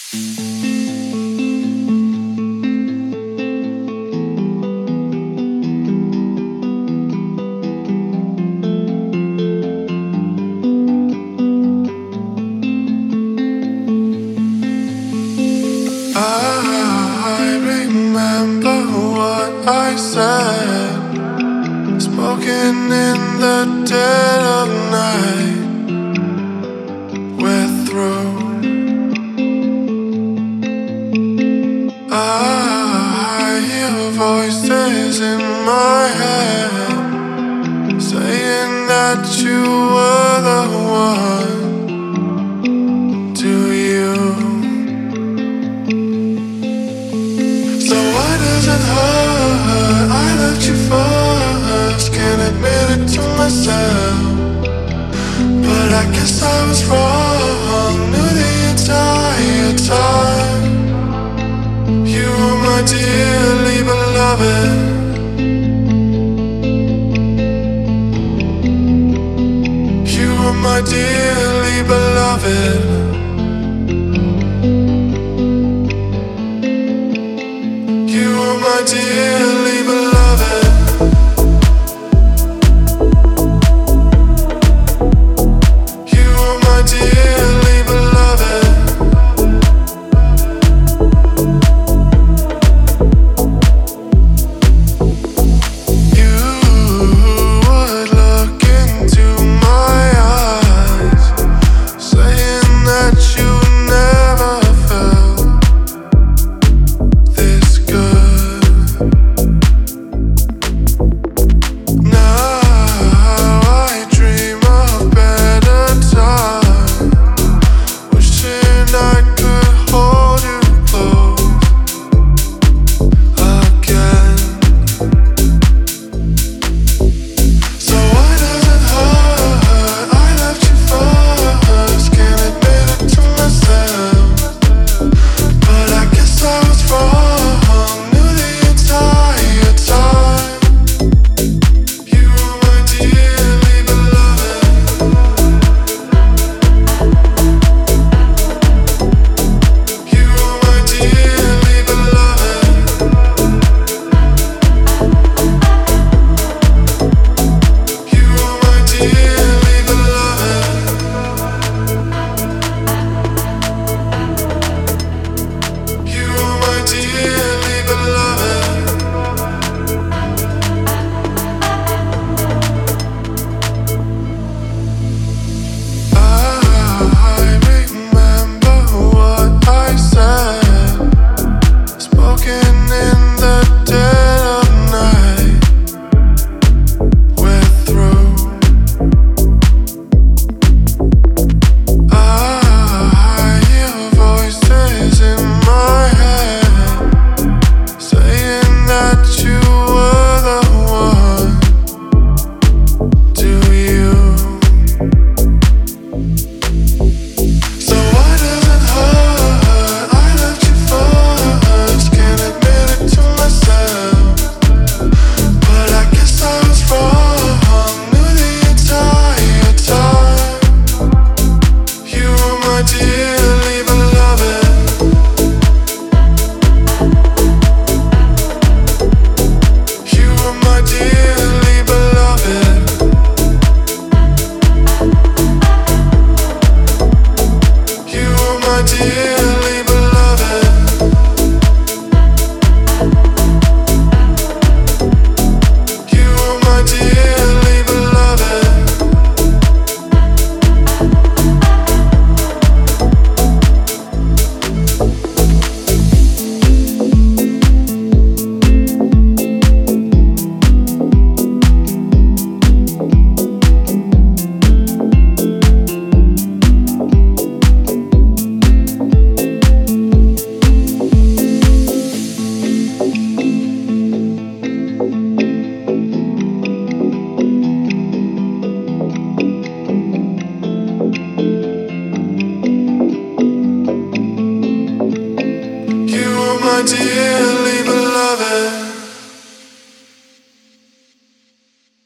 I remember what I said, spoken in the dead of night. We're through. I hear voices in my head saying that you were the one. Do you? So why does it hurt? I loved you first, can't admit it to myself, but I guess I was wrong. Knew the entire time you were my dearly beloved. You were my dearly beloved.